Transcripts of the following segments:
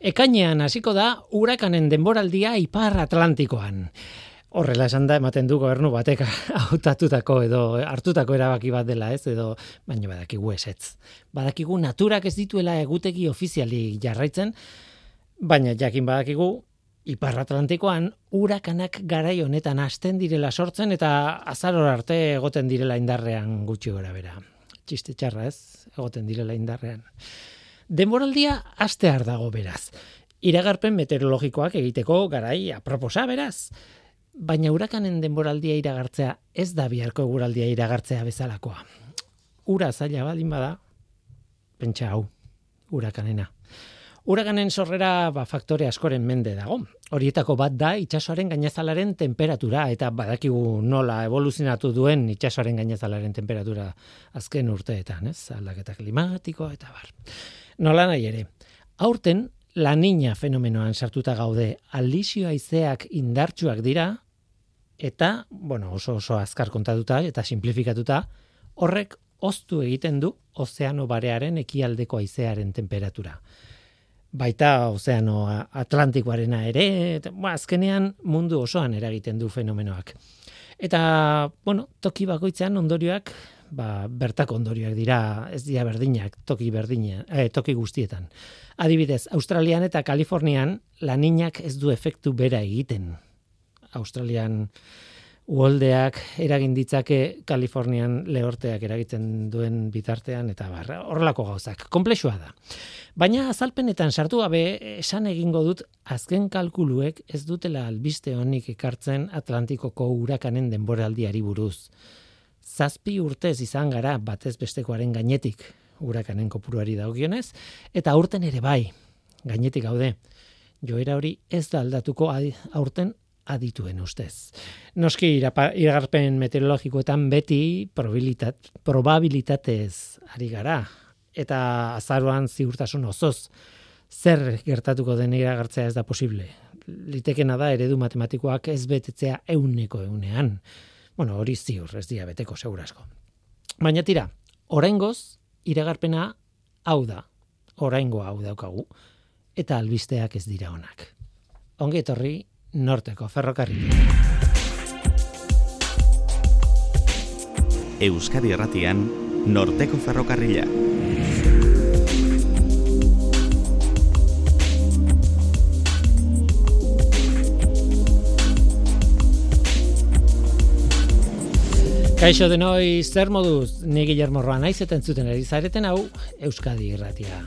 Ekainean hasiko da urakanen denboraldia Ipar Atlantikoan. Horrela esan da ematen du gobernu batek hautatutako edo hartutako erabaki bat dela, ez, edo baina badakigu ezetz. Badakigu naturak ez dituela egutegi ofiziali jarraitzen, baina jakin badakigu Ipar Atlantikoan urakanak garai honetan hasten direla sortzen eta azarora arte egoten direla indarrean gutxi gorabehera. Txiste txarra, ez, egoten direla indarrean. Denboraldia hastear dago beraz. Iragarpen meteorologikoak egiteko garai aproposa beraz. Baina urakanen denboraldia iragartzea ez da biharko eguraldia iragartzea bezalakoa. Ura zaila baldin bada, pentsa hau, urakanena. Urakanen sorrera faktore askoren mende dago. Horietako bat da itsasoaren gainazalaren temperatura eta badakigu nola evoluzionatu duen itsasoaren gainazalaren temperatura azken urteetan, ez? Aldaketa klimatikoa eta bar. Nola nahi ere, aurten La Niña fenomenoan sartuta gaude, aldizio haizeak indartsuak dira, eta, oso azkar kontatuta eta simplifikatuta, horrek hoztu egiten du ozeano barearen ekialdeko haizearen temperatura. Baita ozeano Atlantikoarena ere, azkenean mundu osoan eragiten du fenomenoak. Eta, toki bakoitzean ondorioak, bertako ondorioak dira, ez dira berdinak, toki guztietan. Adibidez, Australian eta Kalifornian La Niñak ez du efektu bera egiten. Australian uholdeak eragin ditzake, Kalifornian lehorteak eragiten duen bitartean, eta horrelako gauzak. Konplexua da. Baina azalpenetan sartu gabe esan egingo dut azken kalkuluek ez dutela albiste honik ekartzen Atlantikoko urakanen denboraldiari buruz. 7 urtez izan gara batez bestekoaren gainetik urakanen kopuruari dagokionez, eta aurten ere bai, gainetik gaude. Joera hori ez da aldatuko aurten adituen ustez. Noski iragarpen meteorologikoetan beti probabilitatez ari gara, eta azaroan ziurtasun osoz zer gertatuko den iragartzea ez da posible. Litekena da eredu matematikoak ez betetzea 100%. Hori ziur, ez dira beteko segurasko. Baina tira, oraingoz iragarpena hau da. Oraingoa hau daukagu. Eta albisteak ez dira onak. Ongi etorri Norteko Ferrokarrila. Euskadi Irratian Norteko Ferrokarrila. Kaixo denoi, zer moduz, ni Guillermo Roa naiz eta entzuten ari zareten hau Euskadi Irratia.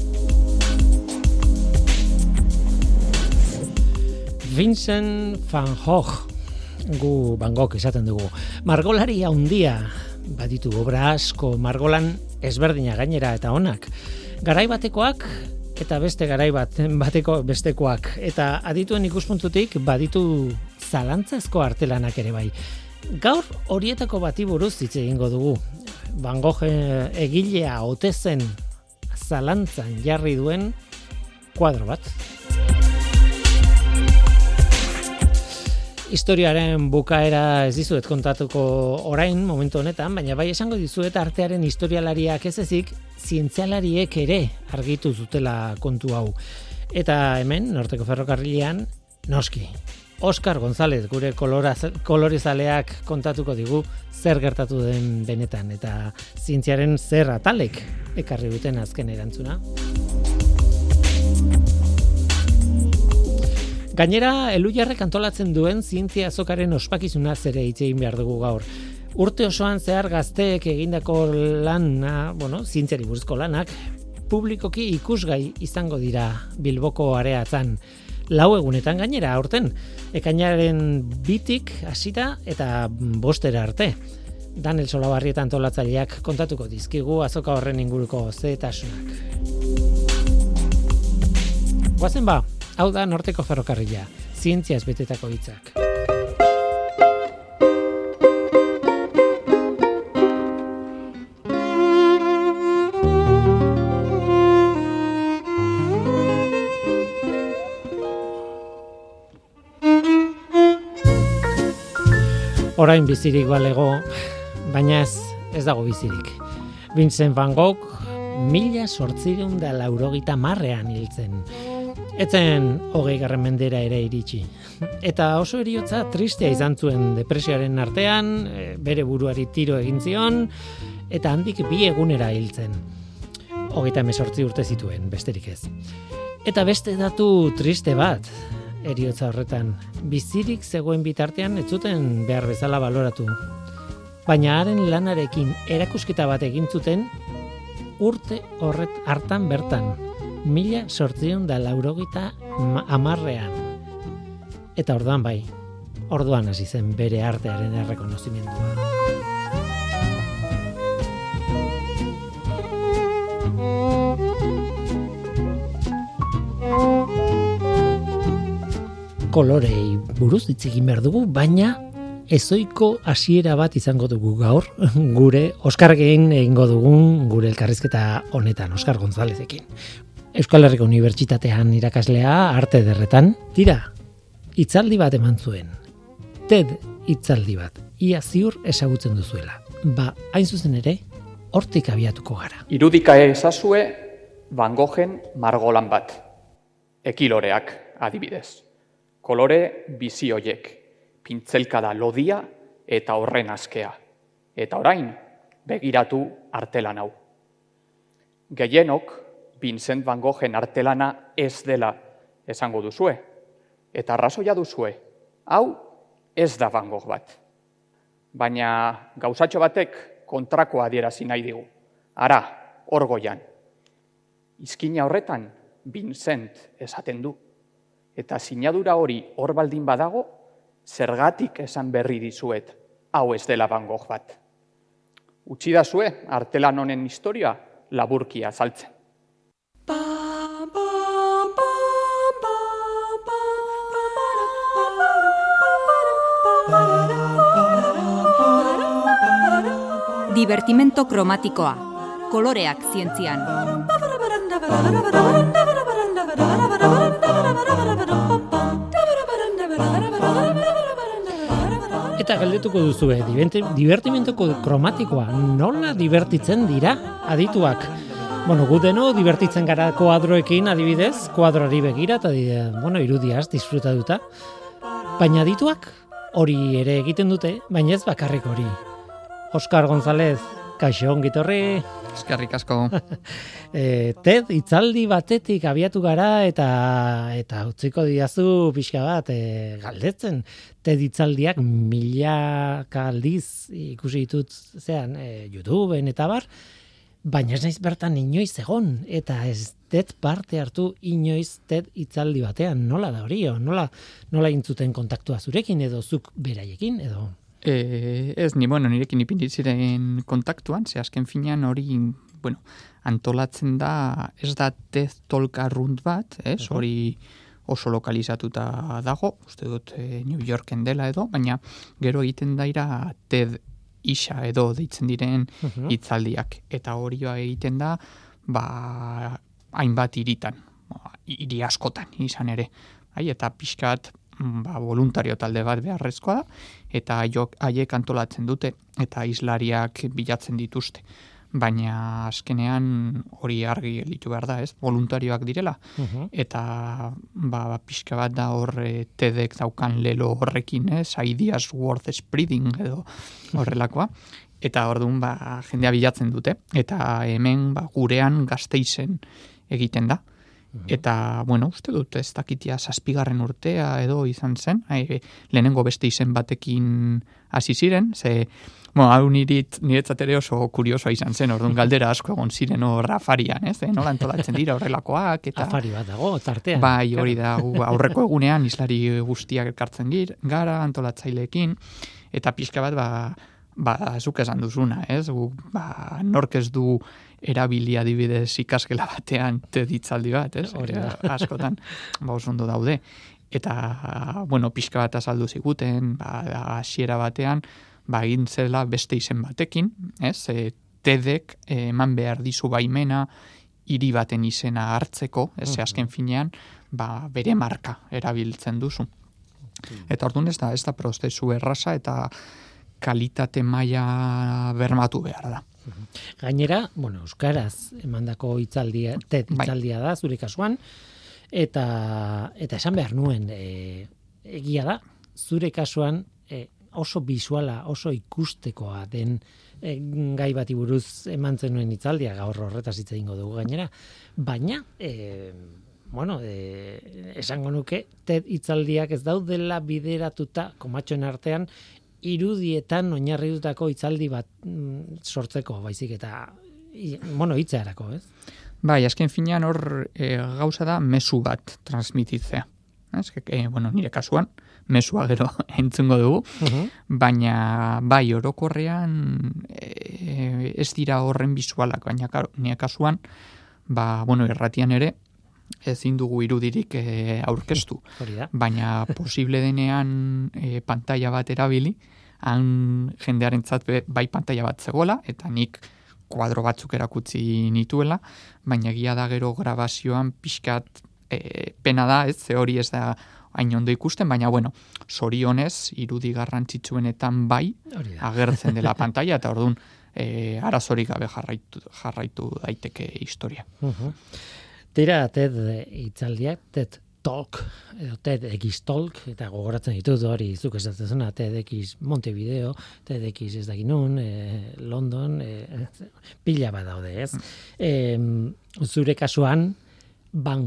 Vincent van Gogh, Van Gogh esaten dugu, margolari handia, baditu obra asko, margolan ezberdina gainera eta onak. Garai batekoak eta beste garai bateko bestekoak, eta adituen ikuspuntutik baditu zalantzazko artelanak ere bai. Gaur horietako bati buruz hitz egingo dugu. Van Gogh egilea ote zen zalantzan jarri duen kuadro bat. Historiaren bukaera ez dizuet kontatuko orain momentu honetan, baina bai esango dizuet artearen historialariak ez ezik, zientzialariek ere argitu zutela kontu hau. Eta hemen, Norteko Ferrokarrilean, noski, Oscar González, gure kolorezaleak kontatuko digu zer gertatu den benetan, eta zientziaren zer atalek ekarri duten azken erantzuna. Gainera, Elujarrek antolatzen duen zientzia azokaren ospakizuna ere hitz egin behar dugu gaur. Urte osoan zehar gazteek egindako lana, zientziari buruzko lanak, publikoki ikusgai izango dira Bilboko areatzan. 4 egunetan gainera aurten, ekainaren 2tik hasita eta 5 arte. Daniel Solabarrieta antolatzaileak kontatuko dizkigu azoka horren inguruko xehetasunak. Goazen ba, hau da Norteko Ferrokarrila, zientziaz betetako hitzak. Orain bizirik balego, baina ez dago bizirik. Vincent van Gogh 1890ean hiltzen. Etzen 20. mendera ere iritsi. Eta oso heriotza tristea izan zuen depresioaren artean, bere buruari tiro egin zion, eta handik 2 egunera hiltzen. 38 urte zituen, besterik ez. Eta beste datu triste bat, heriotza horretan, bizirik zegoen bitartean ez zuten behar bezala baloratu. Baina haren lanarekin erakusketa bat egin zuten urte horret hartan bertan, 1890ean. Eta orduan bai, orduan hasi zen bere artearen errekonozimendua. Kolorei buruz hitz egin behar dugu, baina ezoiko hasiera bat izango dugu gaur, gure Oskarrekin egingo dugun gure elkarrizketa honetan, Oskar Gonzalezekin. Euskal Herriko Unibertsitatean irakaslea, arte ederretan, tira, hitzaldi bat eman zuen. TED hitzaldi bat, ia ziur ezagutzen duzuela. Ba, hain zuzen ere, hortik abiatuko gara. Irudika ezazue Van Goghen margolan bat, ekiloreak adibidez. Kolore bizi hoiek, pintzelkada lodia eta horren askea. Eta orain, begiratu artelan hau. Gehienok, Vincent Van Goghen artelana ez dela esango duzue. Eta arrazoia duzue, hau ez da Van Gogh bat. Baina gauzatxo batek kontrakoa adierazi nahi digu. Ara, hor goian. Izkina horretan, Vincent esaten du. Eta sinadura hori hor baldin badago, zergatik esan berri dizuet, hau ez dela Van Gogh bat. Utsidazue, artelan honen historia laburki azaltzen. Divertimento kromatikoa. Koloreak zientzian. Eta galdetuko duzue, divertimentoko kromatikoa nola divertitzen dira adituak? Bueno, gu deno divertitzen gara koadroekin adibidez, koadroari begira eta irudiaz disfrutatuta. Baina adituak hori ere egiten dute, baina ez bakarrik hori. Oskar González, kaixo ongitorri. Eskerrik asko. TED hitzaldi batetik abiatu gara eta utziko diazu pixka bat galdetzen. TED hitzaldiak milaka aldiz ikusi ditut YouTubeen eta bar, baina ez naiz bertan inoiz egon eta ez dut parte hartu inoiz TED hitzaldi batean. Nola da hori? Nola intzuten kontaktua zurekin edo zuk beraiekin edo? Ez, nirekin ipinitziren kontaktuan, ze azken finean hori, antolatzen da, ez da TED Talk arrunt bat, hori oso lokalizatuta dago, uste dut New Yorken dela edo, baina gero egiten daira TED isa edo deitzen diren hitzaldiak, eta hori egiten da, hainbat hiritan, hiri askotan izan ere, eta pixkat, voluntario talde bat beharrezkoa da, eta haiek antolatzen dute, eta hizlariak bilatzen dituzte. Baina azkenean hori argi gelditu behar da, ez? Voluntarioak direla, eta pixka bat da hor TEDek daukan lelo horrekin, ez? Ideas worth spreading edo horrelakoa. Eta orduan jendea bilatzen dute, eta hemen gurean Gasteizen egiten da. Eta, uste dut, ez dakitia 7. urtea edo izan zen, lehenengo beste izen batekin hasi ziren, ze, hau niretzat ere oso kuriosoa izan zen, orduan galdera asko egon ziren hor afarian, ez, nola antolatzen dira horrelakoak, eta... Afari bat dago, tartean. Bai, hori da, aurreko egunean hizlari guztiak elkartzen gara, antolatzaileekin, eta pixka bat, zuk esan duzuna, ez, nork ez du erabili adibidez ikasgela batean TED hitzaldi bat, ez? Askotan, oso ondo daude. Eta, pixka bat azaldu ziguten, hasiera batean, egin zela beste izen batekin, ez? TEDek eman behar dizu baimena hiri baten izena hartzeko, ez? Azken finean, bere marka erabiltzen duzu. Eta orduan ez da prozesu erraza eta kalitate maila bermatu behar da. Gainera, euskaraz emandako hitzaldia, TED hitzaldia da, zure kasuan, Eta esan behar nuen, egia da, zure kasuan oso bisuala, oso ikustekoa den gai bati buruz eman zenuen hitzaldia, gaur horretaz hitz egingo dugu gainera, baina esango nuke TED hitzaldiak ez daudela bideratuta komatxoen artean irudietan oinarritutako hitzaldi bat sortzeko, baizik eta hitzearako, ez? Bai, azken finean hor gauza da mezu bat transmititzea. Nire kasuan, mesua gero entzungo dugu, baina bai, orokorrean ez dira horren bisualak, baina nire kasuan, erratian ere, ezin dugu irudirik aurkeztu. Baina posible denean pantalla bat erabili, han jendearentzat bai pantalla bat zegoela, eta nik kuadro batzuk erakutsi nituela, baina egia da gero grabazioan pixkat pena da, ze hori ez da hain ondo ikusten, baina zorionez irudi garrantzitsuenetan bai agertzen dela pantalla, eta orduan arazorik gabe jarraitu daiteke historia. Tira TED hitzaldiak, TED Talk, edo TEDx Talk, eta gogoratzen ditut hori zuk esaten zena, TEDx Montevideo, TEDx ez dakit nun, London, pila bat daude, ez? Zure kasuan, Van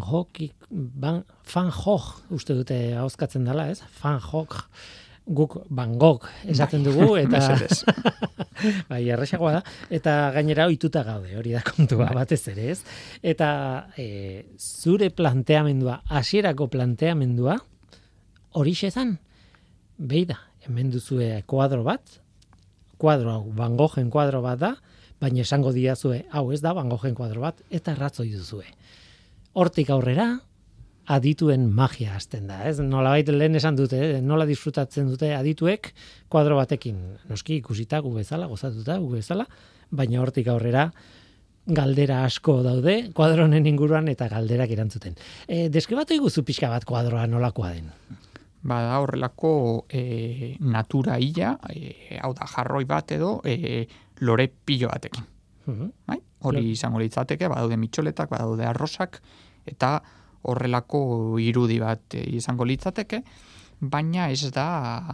Gogh, uste dute ahozkatzen dela, ez? Van Gogh, guk Van Gogh esaten dugu, eta bai, erresagoa da, eta gainera ohituta gaude, hori da kontua batez ere, ez? Eta zure planteamendua, hasierako planteamendua, horixe zan, beida, hemen duzue kuadro hau Van Goghen kuadro bat da, baina esango diazue, hau ez da Van Goghen kuadro bat, eta ratzoi duzue. Hortik aurrera, adituen magia hasten da, ez? Nolabait lehen esan dute, nola disfrutatzen dute adituek kuadro batekin, noski ikusita gu bezala, gozatuta gu bezala, baina hortik aurrera galdera asko daude kuadronen inguruan eta galderak erantzuten. Deskribatu iguzu pixka bat kuadroa nolakoa den? Da horrelako natura illa, hau da jarroi bat edo lore pilo batekin. Hori izango litzateke, badaude mitxoletak, badaude arrosak, eta horrelako irudi bat izango litzateke, baina ez da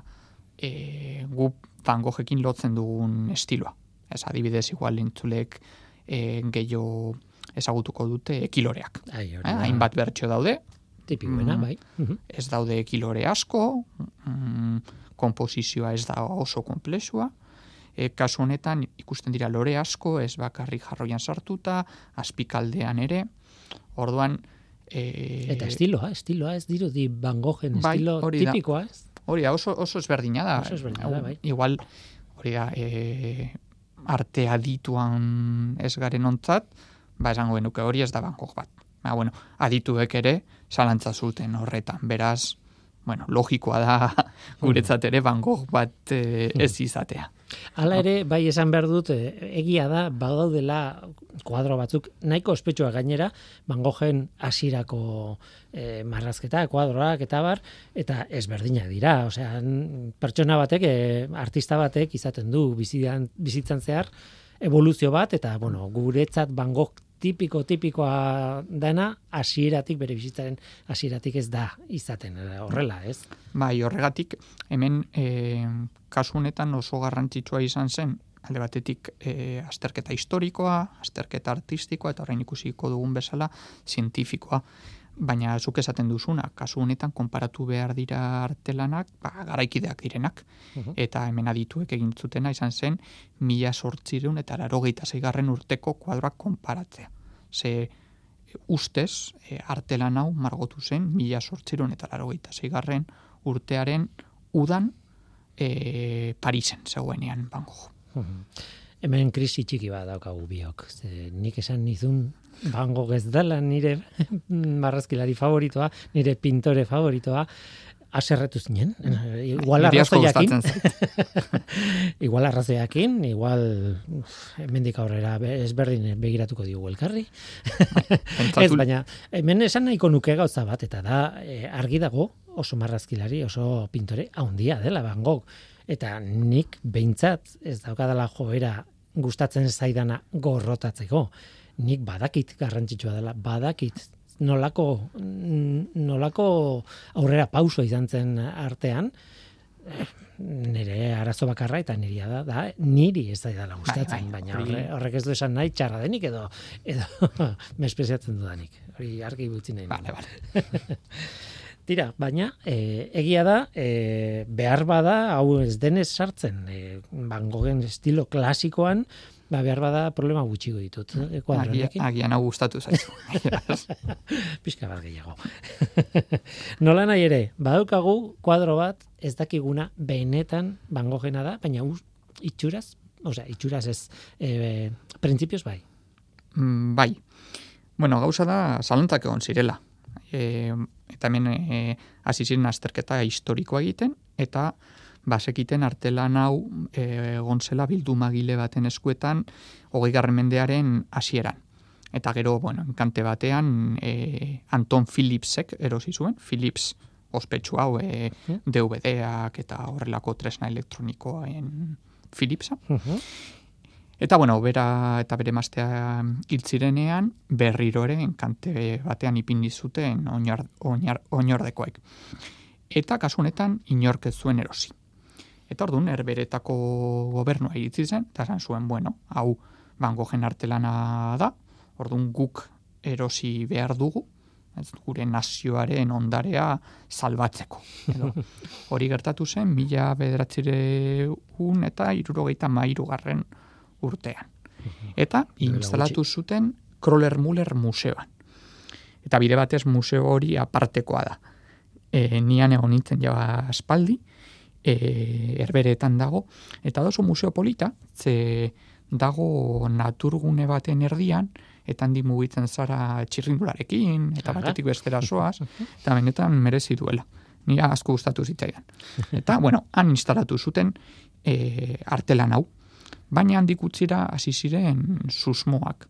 gu Van Goghekin lotzen dugun estiloa. Ez adibidez igual entzulek gehiago ezagutuko dute ekiloreak. Hainbat bertso daude. Tipikoena, bai. Ez daude ekilore asko, konposizioa ez da oso komplexua. Kasu honetan ikusten dira lore asko, ez bakarrik jarroian sartuta, azpikaldean ere. Orduan eta estiloa ez dirudi Van Goghen estilo tipikoa, ez? Hori da, oso ezberdina da. Bai. Igual, hori da, arte adituan ez garen ontzat, esango genuke hori ez da Van Gogh bat. Adituek ere zalantza zuten horretan, beraz, logikoa da guretzat ere Van Gogh bat ez izatea. Hala ere, bai esan behar dut, egia da, badaudela kuadro batzuk, nahiko ospetsua gainera, Van Goghen hasierako marrazketa, kuadroak eta bar, eta ezberdinak dira. Osea, pertsona batek, artista batek izaten du bizitzan zehar, evoluzio bat, eta guretzat Van Gogh tipikoa dena, hasieratik bere bizitzaren hasieratik ez da izaten horrela, ez? Bai, horregatik hemen kasu honetan oso garrantzitsua izan zen, alde batetik azterketa historikoa, azterketa artistikoa eta orain ikusiko dugun bezala zientifikoa. Baina zuk esaten duzuna, kasu honetan konparatu behar dira artelanak, garaikideak direnak. Eta hemen adituek egin zutena izan zen 1886 urteko kuadroak konparatzea. Ze ustez, artelan hau margotu zen 1886 urtearen udan Parisen zegoenean Van Gogh. Hemen krisi txiki bat daukagu biok. Nik esan nizun Van Gogh ez dela nire marrazkilari favoritoa, nire pintore favoritoa, aserretu zinen. Igual arrazoiakin, igual hemendik aurrera ezberdin begiratuko diogu elkarri. Ez, baina hemen esan nahiko nuke gauza bat, eta da argi dago oso marrazkilari, oso pintore handia dela Van Gogh. Eta nik behintzat ez daukadala joera gustatzen zaidana gorrotatzeko. Nik badakit garrantzitsua dela, badakit nolako aurrera pauso izan zen artean, nire arazo bakarra eta niria da niri ez da gustatzen, baina horrek ez du esan nahi txarra denik edo mespeziatzen dudanik. Hori argi utzi nahi. Vale. Tira, baina egia da, behar bada, hau ez denez sartzen, Van Goghen estilo klasikoan, behar bada problema gutxiko ditut. Agian hau gustatu zaizu. Pixka bat gehiago. Nola nahi ere, badaukagu kuadro bat ez dakiguna benetan Van Goghena da, baina itxuraz ez, printzipioz bai. Bai. Bueno, gauza da, zalantzak egon zirela. Eta hemen hasi ziren azterketa historikoa egiten, eta basekiten artelan hau egon zela bildumagile baten eskuetan 20. mendearen hasieran. Eta gero, enkante batean Anton Philipsek erosi zuen, Philips ospetsu hau DVD-ak eta horrelako tresna elektronikoen Philipsa. Eta bera eta bere emaztea hil zirenean berriro ere enkante batean ipini zuten oinordekoek. Eta kasu honetan inork ez zuen erosi. Eta orduan Herberetako gobernua iritsi zen, eta esan zuen, hau Van Goghen artelana da, orduan guk erosi behar dugu, gure nazioaren ondarea salbatzeko. Hori gertatu zen 1973 urtean. Eta instalatu zuten Kröller-Müller museoan. Eta bide batez museo hori apartekoa da. Nian egon nintzen jaba aspaldi, Herberetan dago, eta oso museo polita, ze dago naturgune baten erdian, eta handi mugitzen zara txirrindularekin, eta batetik bestera soaz, eta benetan merezi duela. Nira asko gustatu zitzaidan. Eta, han instalatu zuten artelan hau. Baina handik utzira hasi ziren susmoak.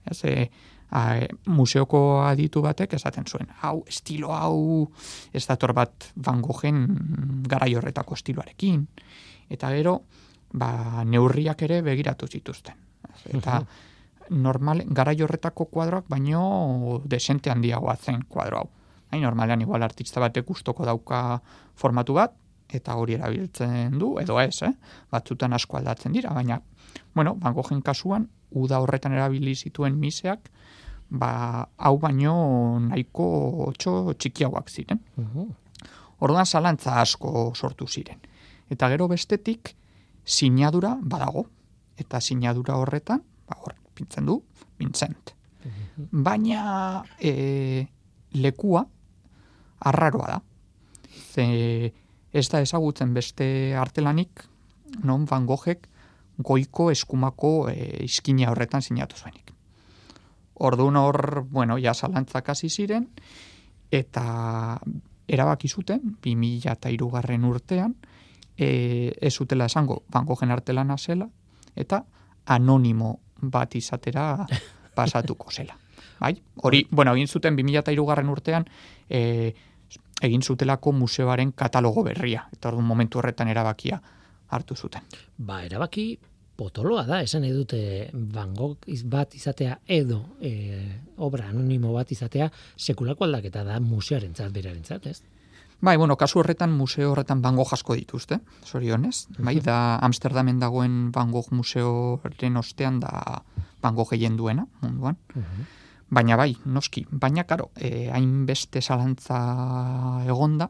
Museoko aditu batek esaten zuen, estilo hau ez dator bat Van Goghen garai horretako estiloarekin. Eta gero, neurriak ere begiratu zituzten. Eta garai horretako kuadroak baino desente handiagoa zen kuadro hau. Normalean igual artista batek gustoko dauka formatu bat, eta hori erabiltzen du, edo ez, batzutan asko aldatzen dira, baina, Van Goghen kasuan, uda horretan erabili zituen miseak, hau baino nahiko txikiagoak ziren. Orduan zalantza asko sortu ziren. Eta gero bestetik, sinadura badago. Eta sinadura horretan, hor pintzen du, Vincent. Baina lekua arraroa da. Ze ez da ezagutzen beste artelanik, non Van Goghek goiko eskumako izkina horretan sinatu zuenik. Orduan hor, zalantzak hasi ziren, eta erabaki zuten, 2003 urtean, ez zutela esango Van Goghen artelana zela, eta anonimo bat izatera pasatuko zela. Bai? Hori, egin zuten 2003 urtean, egin zutelako museoaren katalogo berria, eta orduan momentu horretan erabakia hartu zuten. Erabaki potoloa da, esan edute Van Gogh bat izatea edo obra anonimo bat izatea sekulako aldaketa da museoarentzat berarentzat, ez? Kasu horretan museo horretan Van Gogh asko dituzte, zorionez. Da Amsterdamen dagoen Van Gogh museoren ostean da Van Gogh gehien duena munduan. Baina noski. Baina, karo, hainbeste zalantza egonda,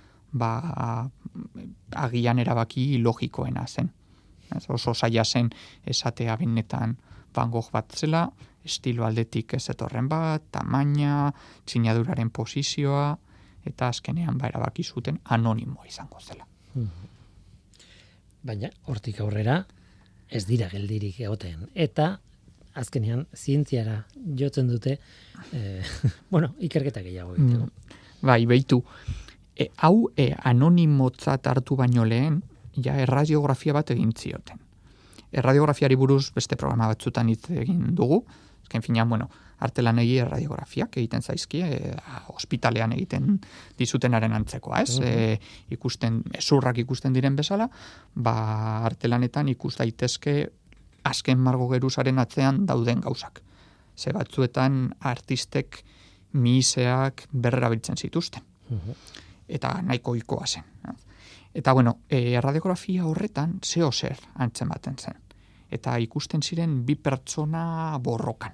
agian erabaki logikoena zen. Oso zaila zen esatea benetan Van Gogh bat zela, estilo aldetik ez etorren bat, tamaina, sinaduraren posizioa, eta azkenean erabaki zuten anonimoa izango zela. Baina, hortik aurrera, ez dira geldirik egoten. Eta, azkenean, zientziara jotzen dute, ikerketa gehiago egiteko. Behitu. Hau anonimotzat hartu baino lehen, erradiografia bat egin zioten. Erradiografiari buruz beste programa batzutan hitz egin dugu. Azken finean, artelanegi erradiografiak egiten zaizkie, ospitalean egiten dizutenaren antzekoa, ez? Ezurrak ikusten diren bezala, artelanetan ikus daitezke azken margo geruzaren atzean dauden gauzak. Ze batzuetan artistek mihiseak berrerabiltzen zituzten. Eta nahiko ohikoa zen. Eta bueno, radiografia horretan zeo zer antzematen zen. Eta ikusten ziren bi pertsona borrokan.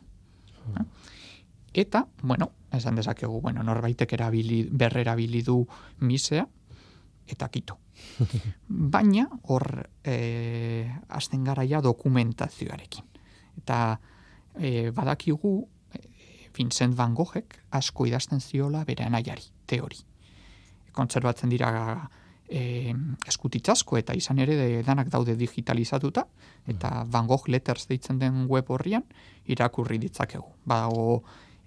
Eta, bueno, esan dezakegu, bueno, norbaitek berrerabili du misea, eta kito. Baina, hor, azten garaia dokumentazioarekin. Eta badakigu, Vincent van Goghek asko idazten ziola bere anaiari, teori. Kontserbatzen dira eskutitzasko eta izan ere danak daude digitalizatuta, eta Van Gogh Letters deitzen den web horrian irakurri ditzakegu. Badago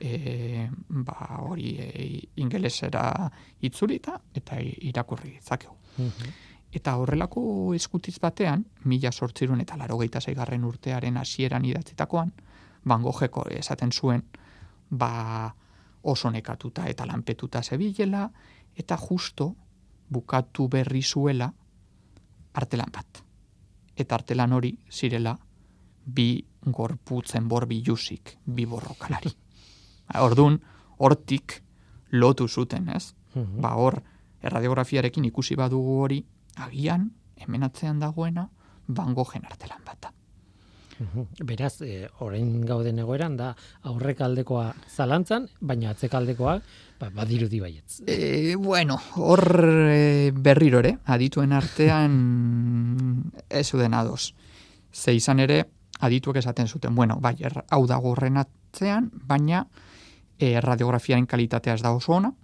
hori ingelesera itzulita eta irakurri ditzakegu. Eta horrelako eskutitz batean, 1886 urtearen hasieran idatzitakoan, Van Gogheko esaten zuen, oso nekatuta eta lanpetuta zebilela, eta justo bukatu berri zuela artelan bat. Eta artelan hori zirela bi gorputzen bilusik, bi borrokalari. Ordun hortik lotu zuten, ez? Hor, erradiografiarekin ikusi badugu hori, agian, hemen atzean dagoena, Van Goghen artelan bata. Beraz, orain gauden egoeran da aurrekaldekoa zalantzan, baina atzekaldekoa badirudi baietz. Bueno, hor berriro ere, adituen artean ez zuden ados. Ze izan ere, adituek esaten zuten, bueno, bai, hau dago horren atzean, baina radiografiaren kalitatea ez da oso ona,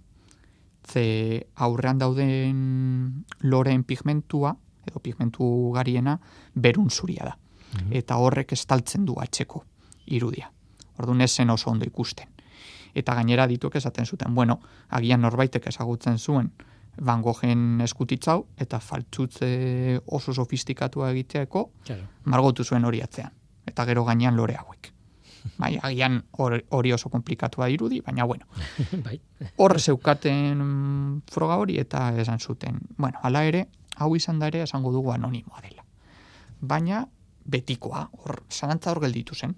ze aurrean dauden loreen pigmentua, edo pigmentu gariena, berun zuria da. Eta horrek estaltzen du atxeko irudia. Orduan ez zen oso ondo ikusten. Eta gainera dituek esaten zuten, bueno, agian norbaitek ezagutzen zuen Van Goghen eskutitzau, eta faltzutze oso sofistikatua egiteako, margotu zuen hori atzean. Eta gero gainean lore hauek. Bai, agian hori oso komplikatua irudi, baina bueno. Hor zeukaten froga hori eta esan zuten, bueno, hala ere, hau izan da ere esango dugu anonimoa dela. Baina betikoa, zalantza hor gelditu zen.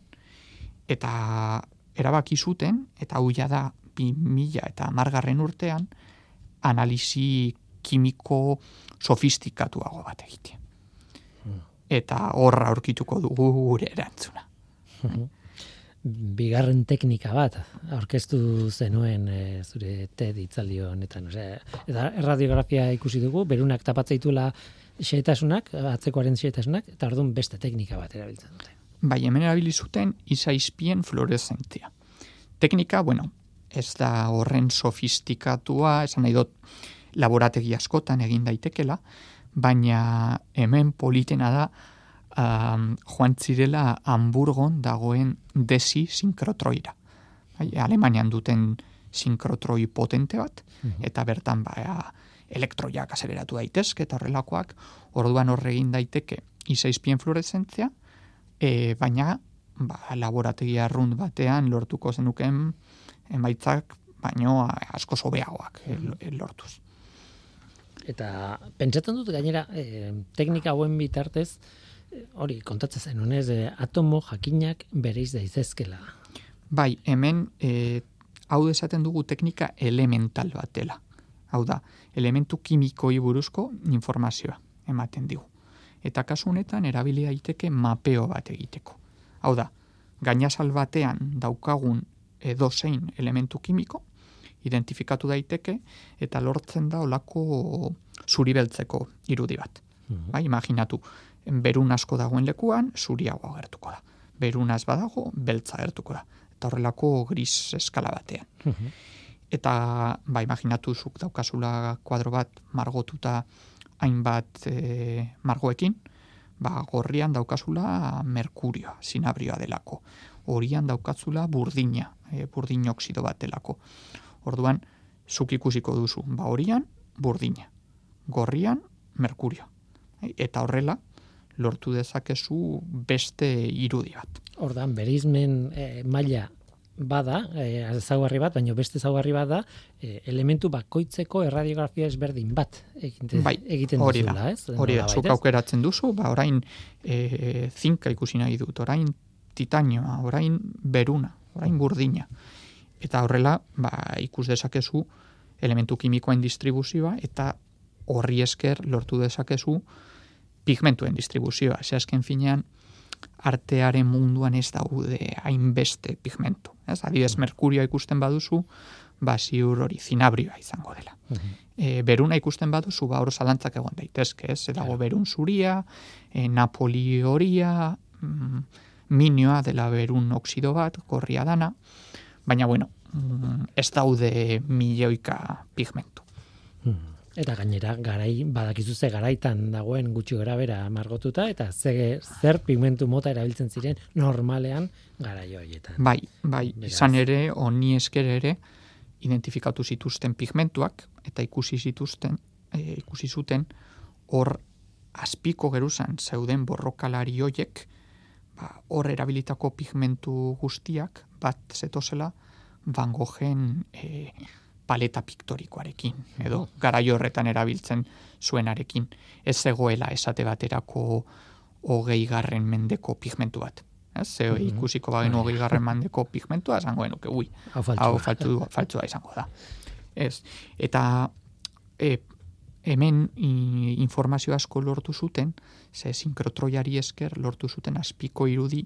Eta erabaki zuten, eta hau da 2010 urtean, analisi kimiko sofistikatuago bat egitea. Eta horra aurkituko dugu gure erantzuna. Bigarren teknika bat aurkeztu zenuen zure TED hitzaldi honetan. Eta erradiografia ikusi dugu, berunak tapatzeituela xehetasunak, atzekoaren xehetasunak, eta orduan beste teknika bat erabiltzen dute. Bai, hemen erabili zuten izaizpien fluoreszentzia. Teknika, bueno, ez da horren sofistikatua, esan nahi dut laborategi askotan egin daitekela, baina hemen politena da joan zirela Hamburgon dagoen desi sinkrotroira. Alemanian duten sinkrotroi potente bat, eta bertan elektroiak azeleratu daitezke eta horrelakoak, orduan horregin daiteke izaizpien fluoreszentzia, baina laborategi arrunt batean lortuko zenuken emaitzak baino asko sobeagoak lortuz. Eta pentsatzen dut gainera teknika hauen bitartez hori kontatzen zenunez atomo jakinak bereiz daitezkela. Bai, hemen hau esaten dugu teknika elemental bat dela. Hau da, elementu kimikoi buruzko informazioa ematen digu. Eta kasu honetan erabili daiteke mapeo bat egiteko. Hau da, gainazal batean daukagun edozein elementu kimiko, identifikatu daiteke eta lortzen da olako zuribeltzeko irudi bat. Bai, imaginatu, berun asko dagoen lekuan, zuriago agertuko da. Berunaz badago, beltza agertuko da. Eta horrelako gris eskala batean. Eta, imaginatu zuk daukazula kuadro bat margotuta hainbat margoekin, gorrian daukazula merkurioa, sinabrioa delako. Horian daukazula burdina, burdin oksido bat delako. Orduan, zuk ikusiko duzu, horian burdina, gorrian merkurio. Eta horrela, lortu dezakezu beste irudi bat. Ordan bereizmen maila bada, ezaugarri bat, baina beste ezaugarri bat da, elementu bakoitzeko erradiografia ezberdin bat egiten duzula, ez? Hori da, zuk aukeratzen duzu, orain zinka ikusi nahi dut, orain titanioa, orain beruna, orain burdina. Eta horrela, ikus dezakezu elementu kimikoen distribuzioa eta horri esker lortu dezakezu pigmentuen distribuzioa. Azken finean, artearen munduan ez daude hainbeste pigmentu. Adibidez, merkurioa ikusten baduzu, ziur hori zinabrioa izango dela. Beruna ikusten baduzu, hor zalantzak egon daitezke, dago berun zuria, napoli horia, minioa dela berun oksido bat, gorria dana, baina ez daude milioika pigmentu. Eta gainera, badakizu ze garaitan dagoen gutxi gara bera margotuta, eta zer pigmentu mota erabiltzen ziren normalean garai horietan. Bai, izan ere, honi esker ere, identifikatu zituzten pigmentuak, eta ikusi zuten, hor azpiko geruzan zeuden borrokalari hoiek, hor erabilitako pigmentu guztiak, bat zetozela, Van Goghen paleta piktorikoarekin, edo garai horretan erabiltzen zuenarekin. Ez zegoela esate baterako 20. mendeko pigmentu bat. Ikusiko bagen 20. mendeko pigmentua, esango genuke, hau faltzua izango da. Eta hemen informazio asko lortu zuten, sinkrotroiari esker lortu zuten azpiko irudi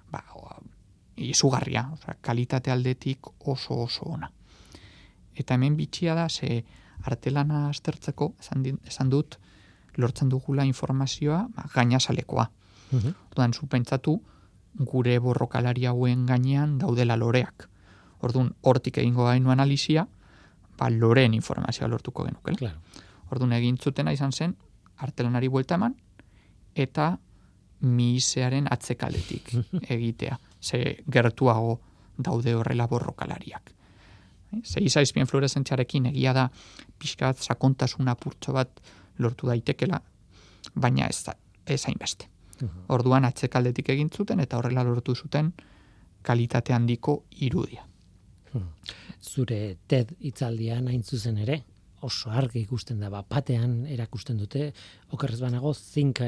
izugarria, kalitate aldetik oso ona. Eta hemen bitxia da, artelana aztertzeko, esan dut, lortzen dugula informazioa gainazalekoa. Orduan, pentsatu gure borrokalari hauen gainean daudela loreak. Orduan, hortik egingo gainu analizia, loreen informazioa lortuko genuke. Claro. Orduan, egin zutena izan zen, artelanari buelta eman, eta mihisearen atzekaldetik egitea. Gertuago daude horrela borrokalariak. Izaizpien fluoreszentziarekin egia da pixkat sakontasun apurtxo bat lortu daitekela, baina ez hainbeste. Orduan atzekaldetik egin zuten eta horrela lortu zuten kalitate handiko irudia. Zure TED hitzaldian hain zuzen ere, oso argi ikusten da, batean erakusten dute, okerrez banago, zink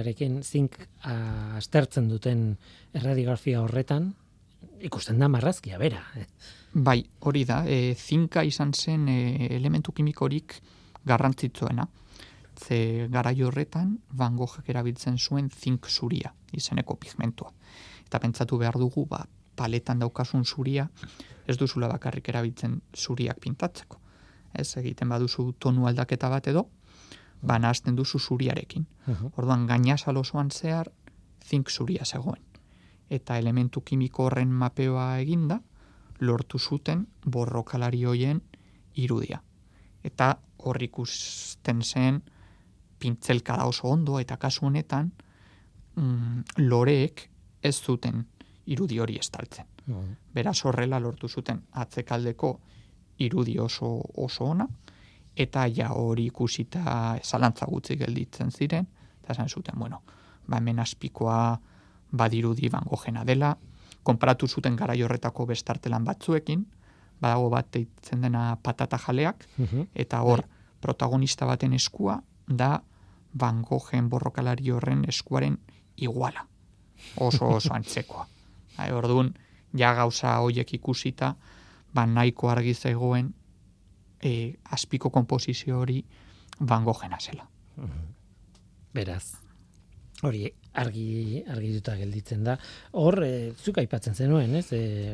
aztertzen duten erradiografia horretan, ikusten da marrazkia bera. Bai, hori da, zinka izan zen elementu kimikorik garrantzitsuena. Ze garai horretan, Van Goghek erabiltzen zuen zink zuria, izeneko pigmentua. Eta pentsatu behar dugu, paletan daukasun zuria, ez duzula bakarrik erabiltzen zuriak pintatzeko. Ez egiten baduzu tonu aldaketa bat edo, nahazten duzu zuriarekin. Orduan, gainazal osoan zehar, zink zuria zegoen. Eta elementu kimiko horren mapeoa eginda, lortu zuten borrokalari hoien irudia. Eta hor ikusten zen pintzelkada oso ondo, eta kasu honetan loreek ez zuten irudi hori estaltzen. Beraz horrela lortu zuten atzekaldeko irudi oso ona, eta hori ikusita zalantza gutxi gelditzen ziren, eta esan zuten, hemen azpikoa badirudi Van Goghena dela, konparatu zuten garai horretako bestartelan batzuekin, badago bat deitzen dena patata jaleak, eta hor protagonista baten eskua da Van Goghen borrokalari horren eskuaren iguala. Oso antzekoa. Orduan, gauza horiek ikusita, nahiko argi zegoen azpiko konposizio hori Van Goghena zela. Beraz, hori argi duta gelditzen da. Hor, zuk aipatzen zenuen, ez?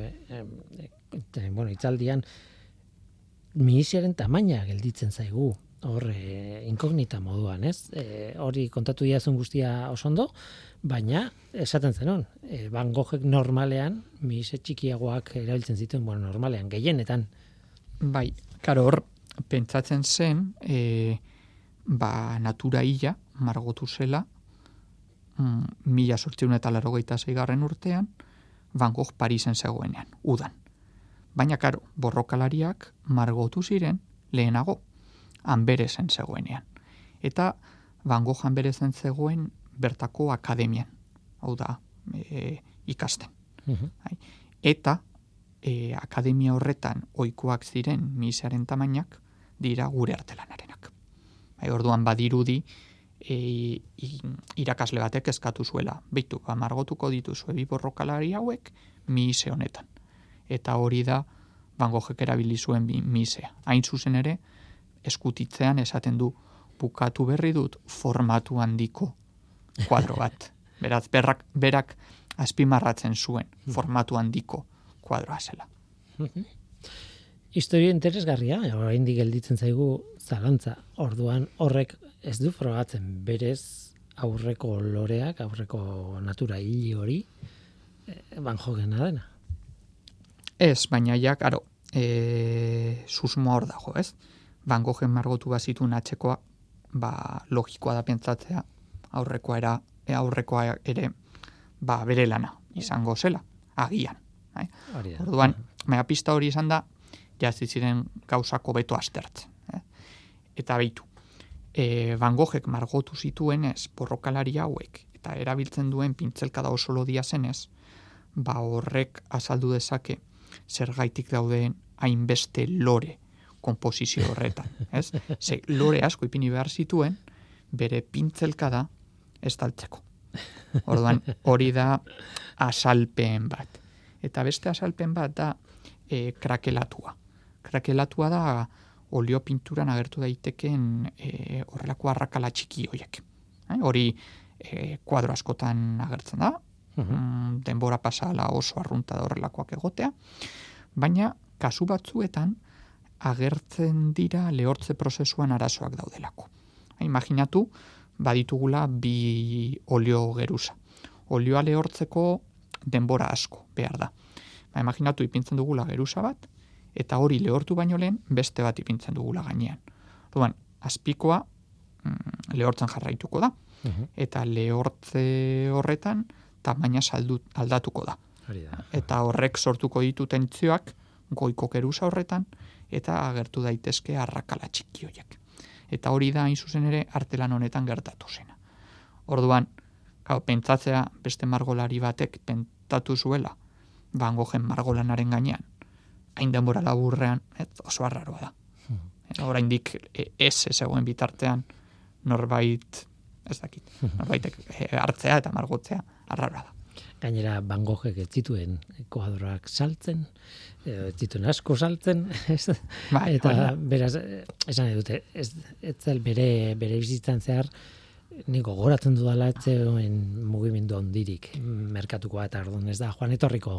Hitzaldian, mihisearen tamaina gelditzen zaigu. Hor, inkognita moduan, ez? Hori kontatu diazun guztia oso ondo, baina esaten zenuen, Van Goghek normalean, mihise txikiagoak erabiltzen zituen, normalean, gehienetan. Bai, karo hor, pentsatzen zen, natura hila margotu zela, 1886 urtean, Van Gogh Parisen zegoenean, udan. Baina, karo, borrokalariak margotu ziren lehenago, Anberezen zegoenean. Eta Van Gogh Anberezen zegoen bertako akademian, hau da, ikasten. Eta akademia horretan ohikoak ziren mihisearen tamainak dira gure artelanarenak. Orduan badirudi irakasle batek eskatu zuela, beitu, margotuko dituzue bi borrokalari hauek mihise honetan. Eta hori da Van Goghek erabili zuen misea. Hain zuzen ere, eskutitzean esaten du, bukatu berri dut formatu handiko kuadro bat. Beraz, berak azpimarratzen zuen formatu handiko kuadroa zela. Historia interesgarria, oraindik gelditzen zaigu zalantza. Orduan horrek ez du frogatzen berez aurreko loreak, aurreko natura hili hori Van Goghena dena. Ez, baina ja, karo, susmoa hor dago, ez? Van Goghen margotu bazituen atzekoa, logikoa da pentsatzea aurrekoa ere bere lana izango zela, agian. Orduan, pista hori izan da, jazti ziren gauzako beto aztertzen. Eta behitu, Van Goghek margotu zituen ez borrokalari hauek, eta erabiltzen duen pintzelkada oso lodia zenez, horrek azaldu dezake zergaitik dauden hainbeste lore konposizio horretan. Ez? Ze lore asko ipini behar zituen, bere pintzelkada estaltzeko. Orduan, hori da azalpen bat. Eta beste azalpen bat da krakelatua. Krakelatua da olio pinturan agertu daiteken horrelako arrakala txiki horiek. Hori kuadro askotan agertzen da, denbora pasala oso arrunta da horrelakoak egotea, baina kasu batzuetan agertzen dira lehortze prozesuan arazoak daudelako. Imaginatu, baditugula bi olio geruza. Olioa lehortzeko denbora asko behar da. Imaginatu ipintzen dugula geruza bat, eta hori lehortu baino lehen beste bat ipintzen dugula gainean. Orduan, azpikoa lehortzen jarraituko da, eta lehortze horretan tamaina aldatuko da. Eta horrek sortuko ditu tentzioak goiko geruza horretan, eta agertu daitezke arrakala txiki horiek. Eta hori da hain zuzen ere artelan honetan gertatu zena. Orduan, pentsatzea beste margolari batek pentsatu zuela Van Goghen margolanaren gainean, hain denbora laburrean, oso arraroa da. Oraindik ez egoen bitartean norbait, ez dakit, norbaitek hartzea eta margotzea arraroa da. Gainera Van Goghek ez zituen kuadroak saltzen, ez zituen asko saltzen, eta beraz, esan edute, ez zel bere bizitzan zehar, niko gogoratzen dudala etzegoen mugimendu handirik merkatukoa, eta orduan ez da Juan etorriko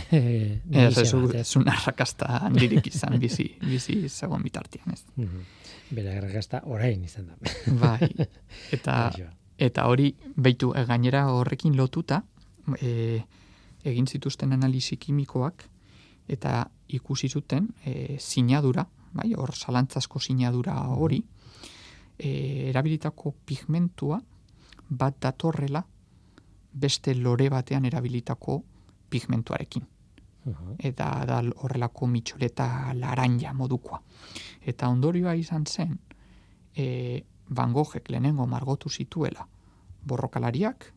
ez un arrakasta handirik izan bizi zegoen bitartean, ez. Bere arrakasta orain izan da. Bai, eta hori, beitu, gainera horrekin lotuta, egin zituzten analisi kimikoak, eta ikusi zuten sinadura, bai, hor zalantzasko sinadura hori, erabilitako pigmentua bat datorrela beste lore batean erabilitako pigmentuarekin. Eta da horrelako mitxoleta laranja modukoa. Eta ondorioa izan zen, Van Goghek lehenengo margotu zituela borrokalariak,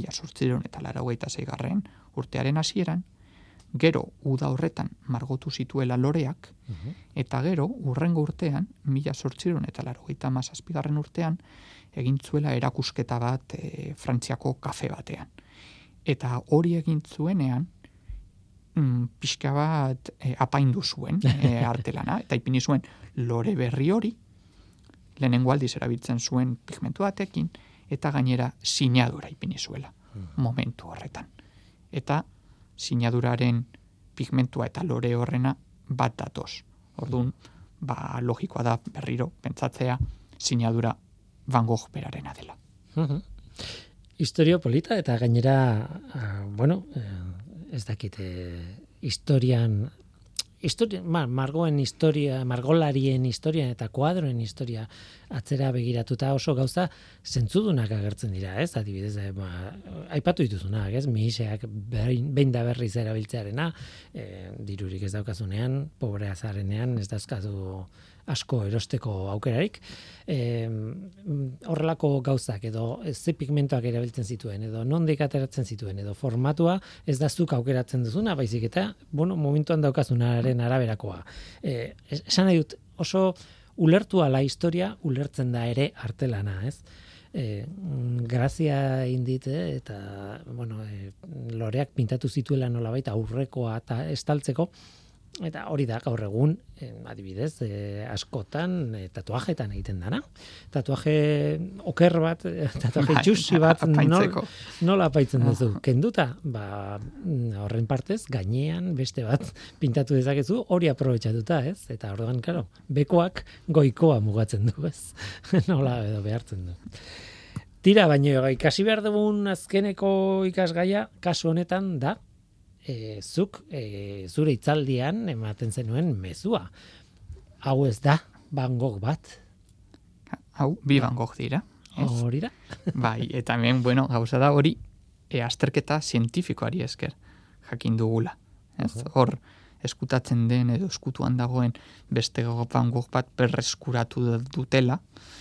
1886 urtearen hasieran, gero uda horretan margotu zituela loreak, eta gero urrengo urtean, 1887 urtean, egin zuela erakusketa bat Frantziako kafe batean. Eta hori egin zuenean, pixka bat apaindu zuen artelana, eta ipini zuen lore berri hori, lehenengo aldiz erabiltzen zuen pigmentu batekin, eta gainera sinadura ipini zuela momentu horretan. Eta sinaduraren pigmentua eta lore horrena bat datoz. Orduan, logikoa da berriro pentsatzea sinadura Van Gogh berarena dela. Historia polita eta gainera, ez dakite, margoen historia, margolarien historia eta kuadroen historia atzera begiratuta oso gauza zentzudunak agertzen dira, ez? Adibidez, aipatu dituzunak, ez? Mihiseak behin da berriz erabiltzearena, dirurik ez daukazunean, pobrea zarenean, ez dauzkazu asko erosteko aukerarik, horrelako gauzak edo ze pigmentoak erabiltzen zituen edo nondik ateratzen zituen edo formatua ez da zuk aukeratzen duzuna, baizik eta momentuan daukazunaren araberakoa. Esan nahi dut, oso ulertu ala historia ulertzen da ere artelana, ez? Grazia indit eta loreak pintatu zituela nolabait aurrekoa eta estaltzeko, Eta hori da gaur egun, adibidez, askotan tatuajetan egiten dana. Tatuaje oker bat, tatuaje txusi bat, nola apaitzen duzu? Kenduta, horren partez, gainean beste bat pintatu dezakezu, hori aprobetxatuta, ez? Eta orduan, claro, bekoak goikoa mugatzen du, ez? Nola edo behartzen du. Tira, baino ikasi behar dugun azkeneko ikasgaia, kasu honetan da, zuk zure hitzaldian ematen zenuen mezua. Hau ez da Van Gogh bat. Hau, bi Van Gogh dira. Hori da. Bai, eta hemen, gauza da hori azterketa zientifikoari esker jakin dugula. Hor, eskutatzen den edo eskutuan dagoen beste Van Gogh bat berreskuratu dutela,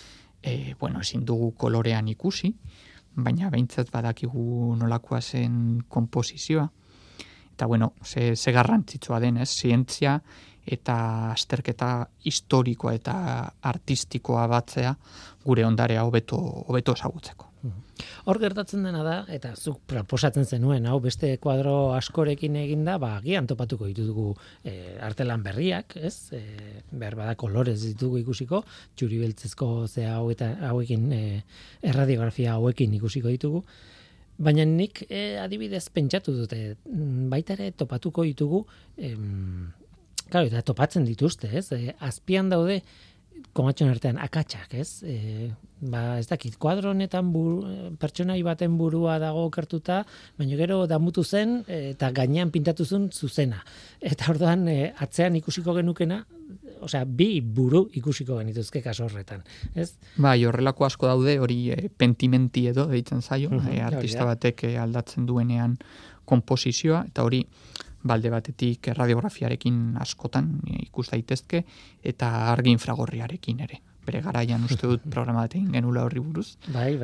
ezin dugu kolorean ikusi, baina behintzat badakigu nolakoa zen konposizioa. Eta ze garrantzitsua den, zientzia eta azterketa historikoa eta artistikoa batzea gure ondarea hobeto ezagutzeko. Hor gertatzen dena da, eta zuk proposatzen zenuen, hau beste kuadro askorekin eginda, agian topatuko ditugu artelan berriak, ez? Behar bada kolorez ditugu ikusiko, txuri beltzezko hauekin, erradiografia hauekin ikusiko ditugu. Baina nik adibidez pentsatu dute, baita ere topatuko ditugu, eta topatzen dituzte, ez? Azpian daude, komatxon artean, akatsak, ez? Ez dakit, kuadro honetan pertsonai baten burua dago okertuta, baina gero damutu zen, eta gainean pintatu zuen zuzena. Eta orduan, atzean ikusiko genukena, bi buru ikusiko genituzke kaso horretan, ez? Bai, horrelako asko daude, hori pentimenti edo deitzen zaio, artista batek aldatzen duenean konposizioa, eta hori balde batetik radiografiarekin askotan ikus daitezke, eta argi infragorriarekin ere. Bere garaian uste dut programa bat egin genula horri buruz. Bai.